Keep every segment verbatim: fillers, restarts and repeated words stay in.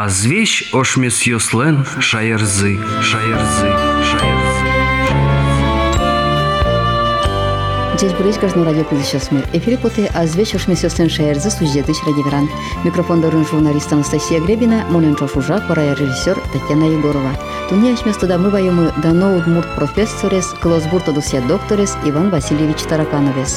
А звещ ошмес йослен шаерзы, шаерзы, шаерзы. Здесь будет каждый радио сейчас мы. Эфире поте а звещ ошмес йослен шаерзы суждетыч радиверан. Микрофон дорын журналист Анастасия Гребина, моненчо шужа, пора режиссер Татьяна Егорова. Туния вместо дамы воемы дано удмурт профессорес, клосбурто досья докторес Иван Васильевич Таракановес.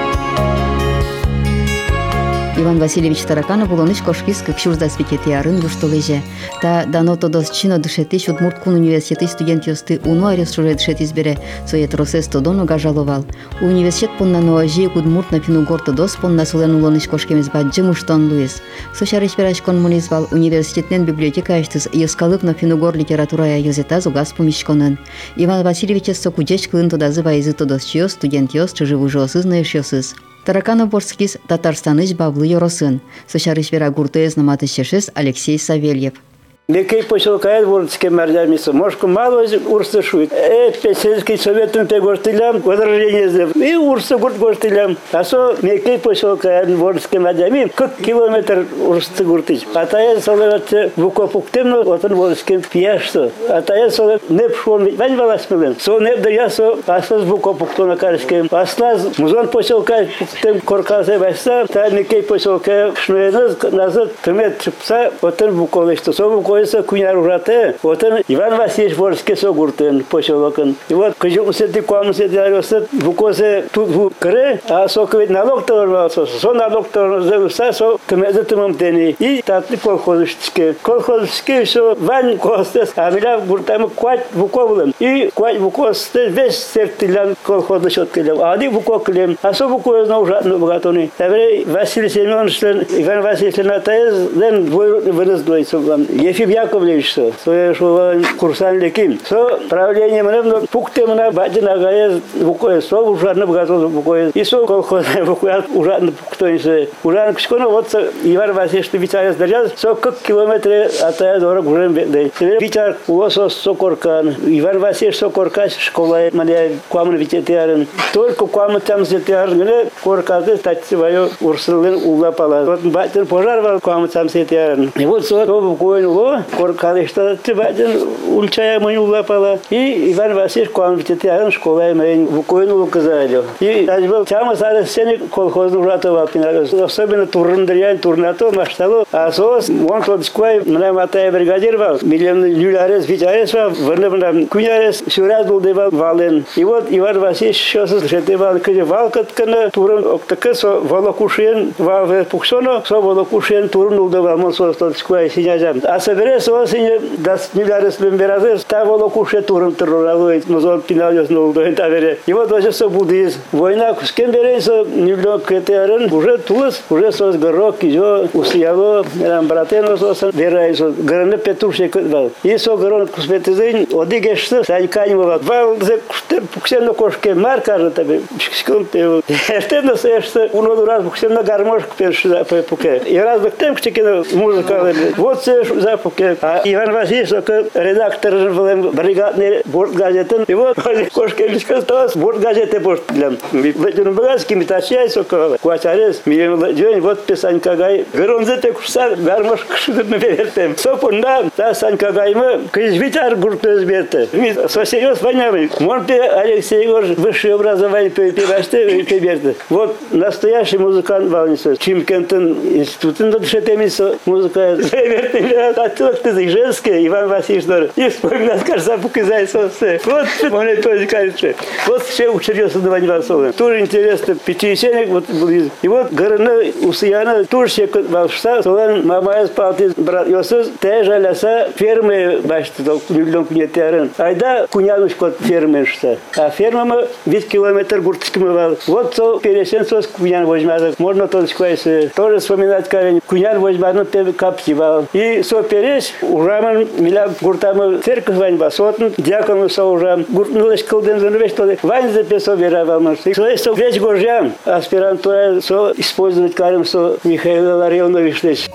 Иван Васильевич Тараканов был оныш кошкис, как шурда святетиарын в штолеже. Та дано то досчино дышетиш удмурт кун университет студент йосты уну арес шуре дышетис бере, соет росес то дону гажаловал. Университет пон на ноажи удмурт на фину горто дос пон на солен улоныш кошкемис баджи муштон луис. Сошариш пераш конмунизвал университетнен библиотека аштыс йоскалык на фину гор литература йозета зугас помещконен. Иван Васильевич сокудеч клын то дазы вайзы то досчиос студент йос чуживу жосыз наешьосыз. Тараканов борскис Татарстаныч баблы йоросын. Сошарыш вера гуртез наматышешес Алексей Савельев. Мекей поселкает вордские мордямисы. Может, мало урсы шует. Э, сельский советом те гостылям, возражение сделал. И урсы гурт гостылям. А со мекей поселкает вордские мордями, как километр урсы гуртыч. А та я соловаться в укопуктемно, вот он вордским пьяшто. А та я солов не пшел, вань валась милен. Со не да я со, а со с вукопукту на карским. А слаз музон поселкает пуктем корказе вайса, та мекей поселкает шнуеныз назад, кмет чипса, вот он вуковышто. Со вуковышто. Куняр урате, вот он Иван Васильевич Ворский согуртен поселокон. И вот кожумся ты комся диарёсет вукосе тут в кре, а соковит налог торвался, со налог торвался, со кмезетымым тени. И татли колхозышке. Колхозышке все вань костес, а миля гуртамы квать вуковлен. И квать вукостес весь сертилян колхозышот клем. А они вуков клем, а со вуков знал ужатно богатони. Тавре Василий Семенович, Иван Васильевич Натаез, ден вырыздойся вам. Ефим Яковлевич, свое шо курсан леким. Со правление мне пукте мне бадина гае вукое со ужасно богатство вукое. И со колхоз вукое ужасно пуктонисе. Ужасно кшконо вот Иван Васильевич Вичарес держал, со как километры от дорог уже бедный. Вичар лосо сокоркан. Иван Васильевич сокоркаш школа мне куамн вичетиарен. Только куамн там сетиарен, мне коркады стать свое урсулен улапала. Вот батин пожар куамн там сетиарен. И вот со вукое коркалышта тибадин ульчая мой улапала. И Иван Васильевич куамвитетиарен школа мой вукоину указали. И даже был тяма сарес сеник колхозну ратовал пинарес. Особенно турндрян турнато маштало. А сос он тот сквай мне матая бригадир вал. Миллион люлярес вичарес вал. Варнебна кунярес сюраз был девал вален. И вот Иван Васильевич сейчас жетевал кеже валкаткана турн октака со волокушен вал пуксоно со волокушен турн улдевал мон сос тот сквай синязам. А соберес осень дас люлярес лемберазес та волокуше турн терроралой мозон пинальос нолдо энтавере. И вот даже со буддиз война с кем берется нюло кетерен уже тулс уже сос горок кизо усияло рам братено сос верайсо гране петушек вал. И со горон кусметезин одигеште сайканьва вал за пуксено кошке маркар тебе скон пел. Эртено сеште уно раз пуксено гармошк перши пуке. И раз бектем кчекено музыка вот се запуке. А Иван Васильевич редактор бригадный борт газеты. И вот кошке лишкостас борт газеты борт для Бетюнбагский метачай соко квачарес миллион день вот писанька гай гронзете куса гармош кшудны бертем. Сопунда та санька гаймы кыжвитар гуртез берте. Ми сосерьез войнами. Монте Алексей Егорович высшее образование певаште пеберте. Вот настоящий музыкант Валнисов. Чимкентен институтын да дышетемисо музыка берте. А тут ты женская Иван Васильевич дор. И вспоминать кажется показать сосе. Вот он это тоже кажется. Вот все учерился на Ваньвасове. Тоже интересно пятидесятник вот был. И вот горны усияна тоже все волшебства. Солан мамая спалти брат Йосиф теже леса фермы башты то миллион кунетярен. Айда кунянушка фермершта. А ферма мы весь километр гуртским вал. Вот то пересен сос кунян возьмет. Можно то сквайсы. Тоже вспоминать карен. Кунян возьмет ну пев капсивал. И со перес ураман миля гуртамы церковь ваньба сотн дьякону со урам. Гуртнулась колден занвеш то вань записал веровал нас. Со есть весь горжан аспирантура со использовать карем со Михаил Ларионович лечь.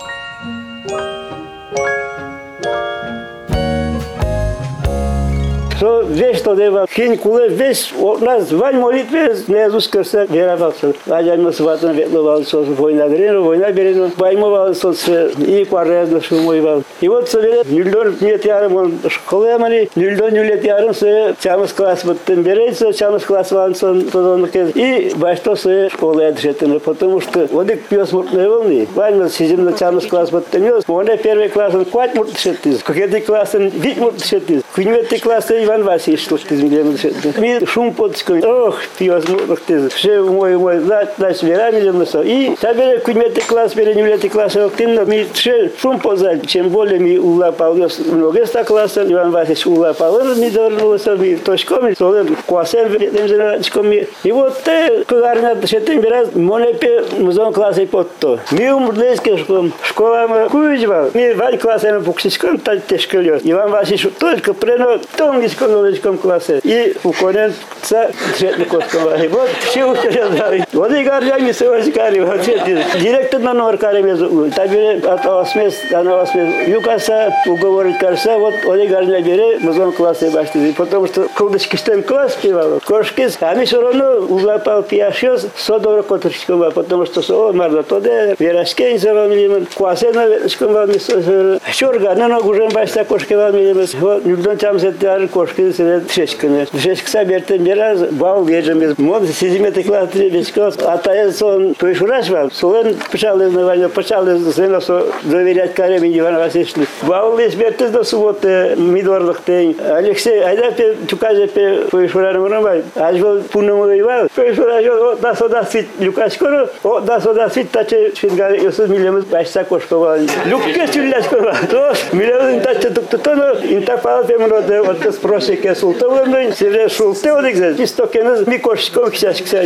Что весь то дева, хин куле весь у нас вань молитве не зускерся веровался. А мы с ватом ветловал со война грину, война берену, поймовал со и кварезно шумовал. И вот совет нюльдон нет ярым он школе мали, нюльдон нюлет ярым се чамас класс вот тем берется, чамас класс вансон тодон и башто се школе отжетено, потому что вот их пьёс мутные волны. Вань сидим на чамас класс вот тем ёс, он первый класс он квать мут шеттиз, какой класс он вид мут шеттиз, куньветый класс Иван Васильевич что ты миллион шеттиз. Ми шум подской, ох пьёс мут шеттиз, все мой мой наш верами лемносо. И табере куньветый класс, бере нюлетый класс, активно ми все шум подзать, чем более ми улапал ёс много ста класса, Иван Васильевич улапал, он не дорнулся ми точками, солен классем тем женочками. И вот те куларня шеттим бераз монепе музон классе подто. Ми умрлейский школам, школа куйджвал. Ми вань классем пуксичком так тяжко лёс. Иван Васильевич только прено тонгиском новичком классе. И уконен ца шетникоском. Вот все учреждали. Вот и гаржами севаськари, вот директор на номер каремезу. Табире от осмес, на осмес. Юкаса уговорить карса, вот он и гаржами бере музон классе башти. Потому что колдочки штем класс пивал. Кошкис, а ми все равно улапал пьяшёс, содора котричкова, потому что со марда тоде, верашкень завал милиман, классе на веточком вал мисо. Щорга, на ногу жем башта кошки вал милиман. Вот нюдон там зетяр кошки севет шешкане. Шешк собертен бераз, бал вежем без мод, сидиметы класс требечко. А таец он пришураш вал, солен пошал из навальня, пошал из сына со доверять кареме Ивана Васильевича. Бал весь бертез до субботы, мидорлых тень. Алексей, айда пе чуказе пе пришураром ромбай. Аж был пунному воевал. Пришураш, вот да сюда свит люкашкоро, вот да сюда свит таче швидгари, юсуд милиман башта кошкова. Люкке чуляшкова. То милиман таче туктоно, интапал пемроде, вот с просеке султовым, севре шултеодик, истокенез микошком ксяшкся.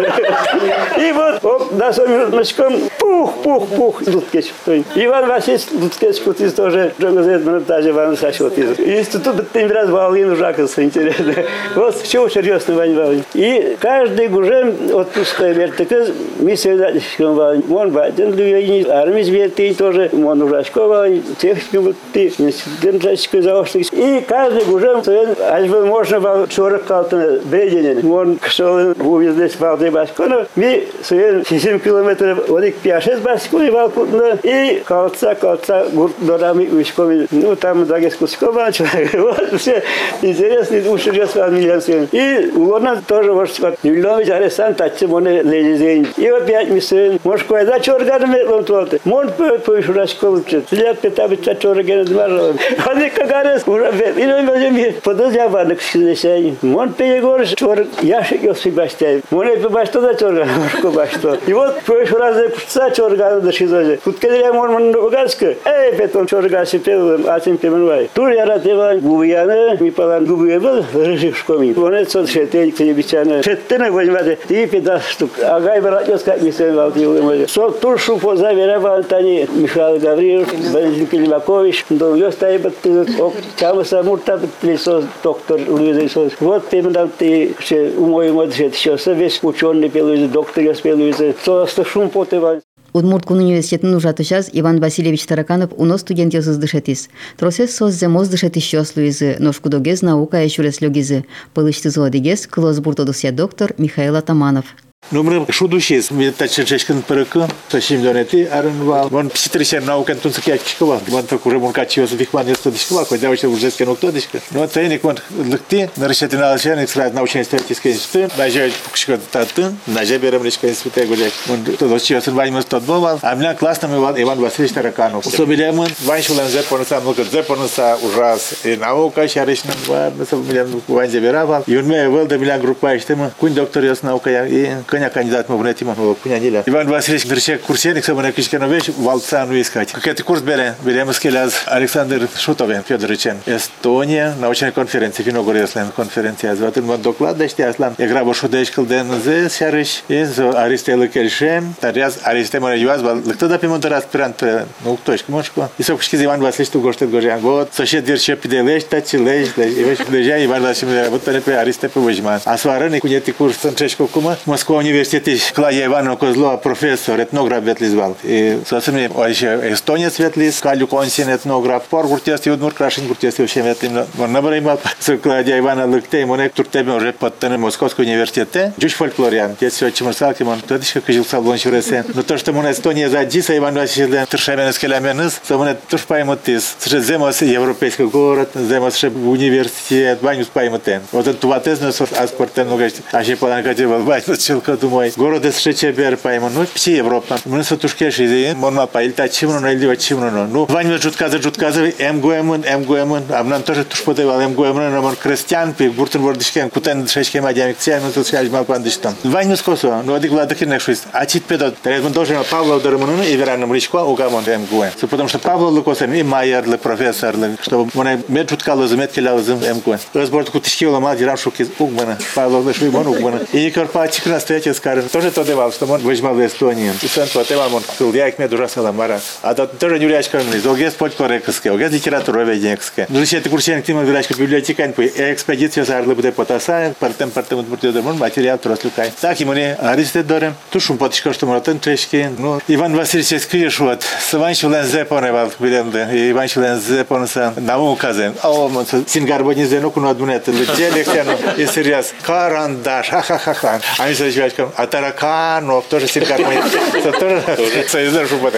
И вот, вот да сомночком пух, пух, пух, луткеч. Иван Васильевич луткеч кутиз тоже джонгазет монтаже Иван Сашотиз. И тут тем раз валин ужакался, интересно. Вот все серьезно Вань Валин. И каждый гужем отпускай вертикез, мы свидательском Валин. Он баден люйни, армии светы тоже, он ужачко Валин, техникум ты, институтческий заочник. И каждый гужем, аж бы можно был сорок калтана бреденен. Он шел увезлись в Алды Баскона, мы своим семь километров вот их пять-шесть Баскона и Валкутна, и калца, калца, гурдорами, ушками, ну там дагескускова, вот все интересные уши с вами. И угодно тоже вот Юльнович Аресан тачи моне лезезень. И опять мы сын, может кое-да чорганами ломтоты. Мон по шурашков учит. Для пятабица чоргана дмаров. Они кагарес уже бед. И мы можем подозревать к сидесей. Мон перегор чор яшик ёс баштай. Моне башто да чорган, может башто. И вот по шуразе пца чоргана да шизозе. Тут когда мон мон угаска. Эй, петон чоргаси пел, атим пеменвай. Тур я ратева губияна, ми палан губиебл, режишкоми. Моне цот шетей кнебичана. Шеттена возьмате. И пятьдесят штук. Агай братёс как не сын валтил. Со туршу поза верава Антони Михаил Гавриев, Валентин Климакович, до ёстай баттыз. Ок чамаса мурта баттыз доктор Луиза. Вот пемдан ты че умой мод шет шоса весь учёный пелуиз доктор ёс пелуиз. Со шум потева. Удмурткун университетин ужатышаз Иван Васильевич Тараканов уно студент ёсыз дышетис. Тросес соззе моз дышетис шос луизы, ношкудогез наука ещурес лёгизы. Пылышты зоодигез клос буртодусия доктор Михаил Атаманов. Numărul șudușez, mi tace ceșcând părăcă, să știm donete, arânval. Mon psitrișer naucă într-un să chiar cișcăva. Mon făcu rămânca ce o să vihman este dișcăva, că deau și urjesc că nu tot dișcă. Nu tăieni când lăcti, ne rășetin alșen, extrat nauceni stăti skenște, naje pușcă tatân, naje berem nici că inspute gojek. Mon todos ce o să vai mă tot boval. Am la clasă mă Ivan Vasilici Taracanov. Să bilem în vai și lanzer până să nu că zer până să urras. E nauca și are și nu să bilem cu vai zeberava. Eu nu e de bilem grupa este mă. Cu doctor eu nauca e Коня кандидат мы в Нетима, Пуняниля. Иван Васильевич Дерчек курсеник, собой на Кичканович, Валца ну искать. Какой курс берем? Берем скеляз Александр Шутовен, Федоровичен. Эстония, научная конференция, Финогорьеслен конференция. Зватын вот доклад дашти аслан. Я грабу шудечкал ден зе сярыш. И Аристелы Кельшем. Таряз Аристемора Юаз, кто да пимон тарас пирант, ну точка мошко. И сопушки Иван Васильевич ту гоштет гожан. Вот сосед Дерчек пиделеш, тачи леш, и веш лежа Иван Васильевич вот тенепе Аристепе вожман. А свараны кунети курс санчешко кума. Москва университете Клавдия Ивановна Козлова профессор, этнограф ветлизвал. И, собственно, еще эстонец ветлиз, Калю Консин этнограф, пор гуртести, удмур крашен гуртести, вообще ветлим. Он набрал, с Клавдия Ивановна Лыктей, монек туртебе уже подтянули Московский университет. Жуч фольклориан, те все чемурсалки, он тодишка кожил саблон шуресе. Но то, что мы Эстония задиса, Иван Васильевич, туршаменес келяменес, то мы туш поймут из. Среди земос европейский город, земос университет, ванюс поймутен. Вот это туатезнос, аспортен, ну, а ще поданкати вайс челка думай. Город из Шечебер поймут, ну, все Европа. Мы с тушке шизи, мон паильта чимно, но или чимно. Ну, ваню жутказы, жутказы, эмгуэмун, эмгуэмун, а нам тоже туш подавал эмгуэмун, но он крестьян, пи буртен вордишкен, кутен шечке мадямик, цян, ну, тут связь мал пандиштам. Ваню скосо, ну, адик владыки нехшусь. А чит педот, он должен Павла Ударману и Вераном Ричко, угамон эмгуэм. Потому что Павла Лукосем и Майер, профессор, чтобы он меджуткало заметкилял зим эмгуэм. Разбор кутишки ломал, дирам шуки угмана, Павла Лешвимон угмана. И Никор Пачик настоятель скажет, тоже то давал, что он выжмал в Эстонии. И сын потевал, он сказал, я их меду расала мара. А то тоже не урячка, огез фольклорекская, огез литература веденская. Ну, если ты курсен, ты врачка библиотека, экспедиция зарлы будет потасая, партем партем утвержден, материал трослюкай. Так и мне аристет дорем. Тушум потишка, что мы трешки. Ну, Иван Васильевич скришут. Сванчулен зепоневал, виденде. Иван Шулен зепонса науказен. А он сингарбони зенуку на дунет. Летели и серьез. Карандаш. Ха-ха-ха-ха. А мы с человеком. А тараканов тоже сингарбони. Тоже союзный шубот.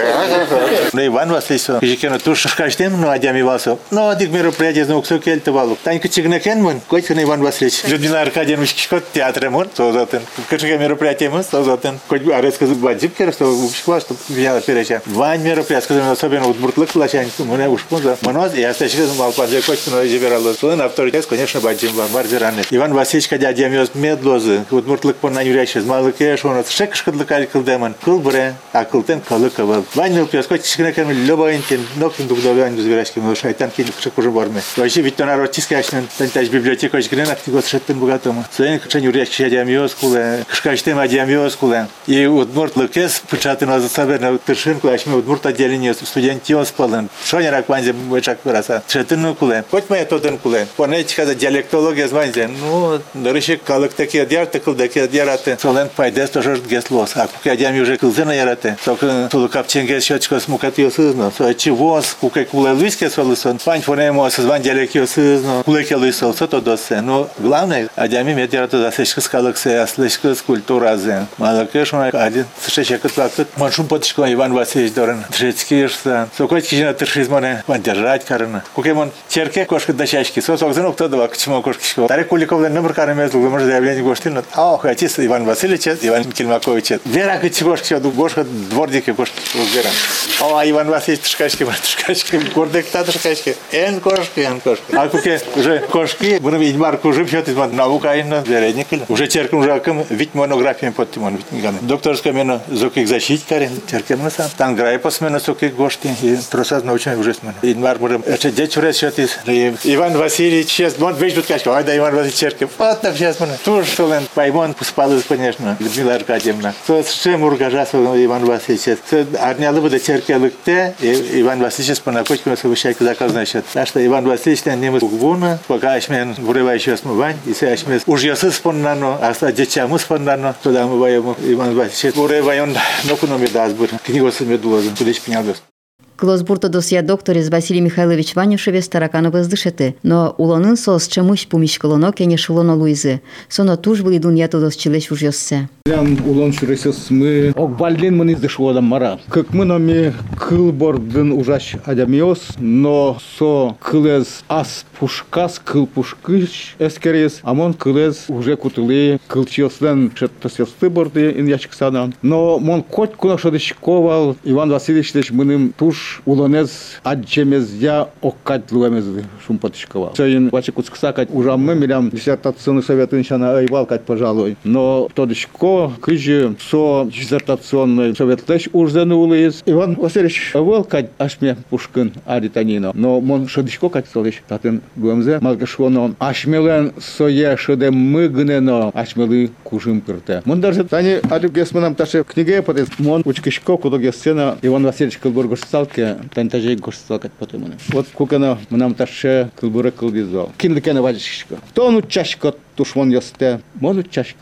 Ну, Иван Васильевич. Кижикену туш шкаштем, ну, адями васу. Ну, адик мероприятие знак сокельте валу. Танька чигнекенман. Койка Иван Васильевич. Людмила Аркадьевна Шкишкот театремон. Созатен. Кашка мероприятие мы созатен. Коть арецка бадзипкер, что ушкла, что взяла переча. Вань мероприятие, особенно вот буртлык лачань. Мы уж поза. Моноз, я стащил мал падзе коть, но изобирал. Сын авторитет, конечно, бадзим варзираны. Иван Васильевич, когда дядя медлозы, вот буртлык по нанюрящий, с малыкеш, он шекшка длакаль кылдеман. Кылбре, а кылтен калыковал. Вань мелпиас, коть чикнекем любоинтин, нокин дугдовянь зверяшким, но шайтанки шек уже борме. Вообще ведь то народ тискачный, тантаж библиотека, гренак, ты год шеттен богатому. Сын, кшень урящий дядя мёскуле, кшкачтем дядя мёскуле. И вот буртлыкес, печатый на засаберную тыршинку, а мы вот бурт отделение студентион спален. Шо не рак ванзе бычак выраса. Шеттен куле. Хоть моя тотен куле. Понятие, когда диалектология званзе. Ну, дырыщик калык такие диар, такие такие диараты. Солен пайдес тоже геслос. А кука дями уже кылзена ярате. Только тулукапченге счетчика смукатил сызно. Чего с кукай куле луиске солысон. Пань фонемо созван диалектио сызно. Кулеке луисол сото досе. Но главное, а дями медиарато засечка скалыксе, аслечка скульптура зе. Малакеш он один сшечек отплатит. Маншум потишко Иван Васильевич Дорен. Трешкишься. Сокой кижина тыршизмоне. Поддержать карна. Кукемон черке кошка дощачки. Сосок занук то два к чему кошки. Тарик Куликовлен номер карамезл. Вы можете заявление гоштильно. А ох, отец Иван Васильевич, Иван Кельмакович. Вера кочегошки, гошка дворники кошки. Вера. А Иван Васильевич тышкачки, тышкачки. Гордек та тышкачки. Эн кошки, эн кошки. А куке уже кошки. Будем видеть марку уже пьет из наука и на вередник. Уже черком уже аком ведь монографиями под тимон. Докторская мена зокик защитить карен. Черкем на сам. Там грай посмена сокик гошки. И тросаз научный уже смена. И мар будем. Это дети уже счет из. Иван Васильевич сейчас мон весь тут качка. Ай да Иван Васильевич черкем. Вот так сейчас мона. Туж солен. Поймон поспал конечно. Людмила Аркадьевна. То чем ургажас Иван Васильевич. Арняли бы до черки лыкте. Иван Васильевич по накочку на совещайке заказ значит. Так что Иван Васильевич не мы гуна. Пока ашмен вырывающий смывань. И се ашмен уж я споннано. А ста дечаму споннано. Туда мы воем Иван Васильевич. Вырываем. Ну куда мы дазбур. Книгу с медузом. Куда шпинялдос. Клосбурта досья докторис Василий Михайлович Ванюшевес таракановыз дышеты, но улонын сос чемусь пумишкалоно кене шулоно луизы. Соно туж были дуньято дос челеш уж ёссе. Прям улон шуресес мы окбалин мы издышло мара. Как мы нами кылбордын ужаш адамиос, но со кылез ас пушкас кыл пушкыш эскерес, амон кылез уже кутылы кылчилсен шеттосесты борды ин ячксадан. Но мон кот кунашадышковал Иван Васильевич мыным туж улонез аджемезя оккать луэмезды шумпатышковал. Сейн вачекутсксакать ужамны милям диссертационный совет иншана айвалкать, пожалуй. Но тодышко кыжи со диссертационный совет лэш урзены улыз. Иван Васильевич валкать ашме пушкин аританино. Но мон шадышко кать солыш татын луэмзе малгашвоно ашмелен сое шеде мыгнено ашмелы кужим пирте. Мон даже тани адыгесманам таше книге подес мон учкишко кудогесена Иван Васильевич Кылбургош салке тантажей горсталкать потом. Вот кукана нам таше Кылбура кылдизал. Кинлекена вадишко. То ну чашко тушмон ясте, мону чашко.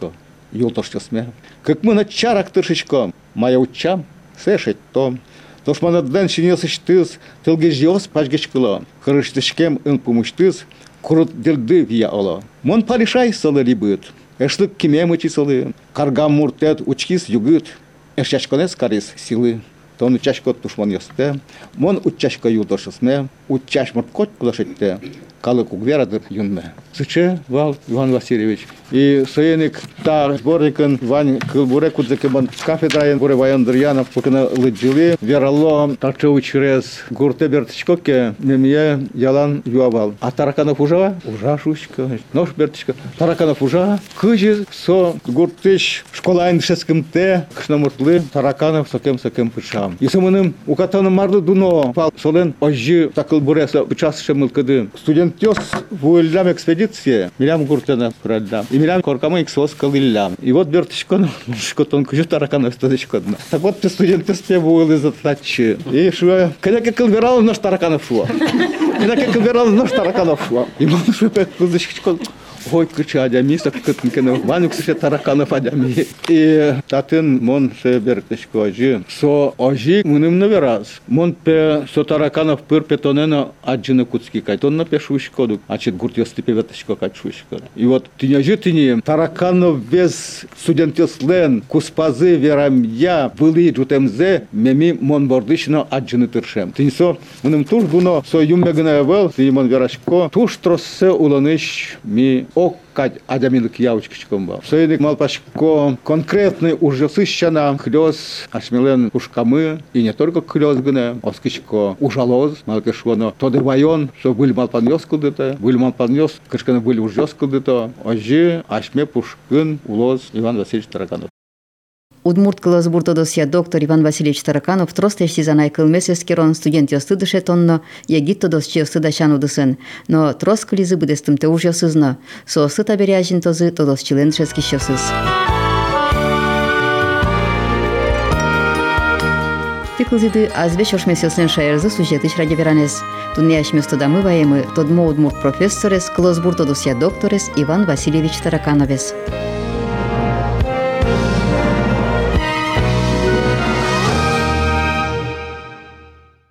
юлтоштосме. Как мы на чарах тышечком, моя учам, сешет том. То ж мана ден шинесыштыз, тылгежиос пачгечкыло. Хырыштышкем ын пумыштыз, курут дилды вия оло. Мон палишай сылы рибыт. Эшлык кимем ичи сылы. Каргам муртет учкис югыт. Эшчашконес карис силы. Тон учашко тушман ёсте. Мон учашко юлтошысме. Учаш мурткот кулашетте. Калы кугверадыр юнме. Сыче вал Иван Васильевич. И соеник та сборникын Вань кылбуре кудзекебан кафедрайын буре ваяндырянов покына лыджилы. Верало такчеву через гурте бертичкоке мемье ялан юавал. А тараканов ужа? Ужа шушка. Нож бертичка. Тараканов ужа. Кыжи со гуртыш школайн шескімте кышнамуртлы тараканов сокем-сокем пышам. И сымыным укатаным марлы дуно пал солен ожжи такылбуре пычас шемылкыды. Студент Тёс в Уильям экспедиции, милям гуртена продам. И милям коркамы иксос калиллям. И вот бертичко, что тонко жу тараканов стадочко. Так вот ты студент Тёс певуэл из отлачи. И шо, когда как калверал наш тараканов шо. Когда как калверал наш тараканов шо. И он шо пять кузочко. Ой, кыча адями, сакыткенкене, ванюк сыше тараканов адями. И татын мон се бертичко ожи. Со ожи мыным навераз. Мон пе со тараканов пыр петонена аджины куцки кайтонна пешушко. Ачит гурт ёсты певеточко качушко. И вот ты не ожи ты не тараканов без студентеслен куспазы верамья были джутемзе меми мон бордышно аджины тыршем. Ты не со мыным туш буно со юмбегне вел, ты мон верашко. Туш троссе уланыш ми оккать адяминок явочкичком был. Соедик малпашко конкретный уже сыщана хлёс ашмелен ушкамы и не только хлёс гне, оскичко ужалоз малкешвоно. То дырвайон, что были малпаньёс кудыто, были малпаньёс, кышканы были ужёс кудыто, ожи ашме пушкын улоз Иван Васильевич Тараканов. Удмурт кылазбуртодосия доктор Иван Васильевич Тараканов тростешти занай кылмесес керон студент ёстыдыше тонно, ягиттодос че ёстыдашан удысын. Но трос кылизы быдестымте уж ёсызно. Со сыта беряжин тозы тодос член шески шёсыз. Тыкылзиды азбеш ошмесёсен шаерзы сюжетыш ради веранес. Тунеяш местодамы ваемы тодмо удмурт профессорес кылазбуртодосия докторес Иван Васильевич Таракановес.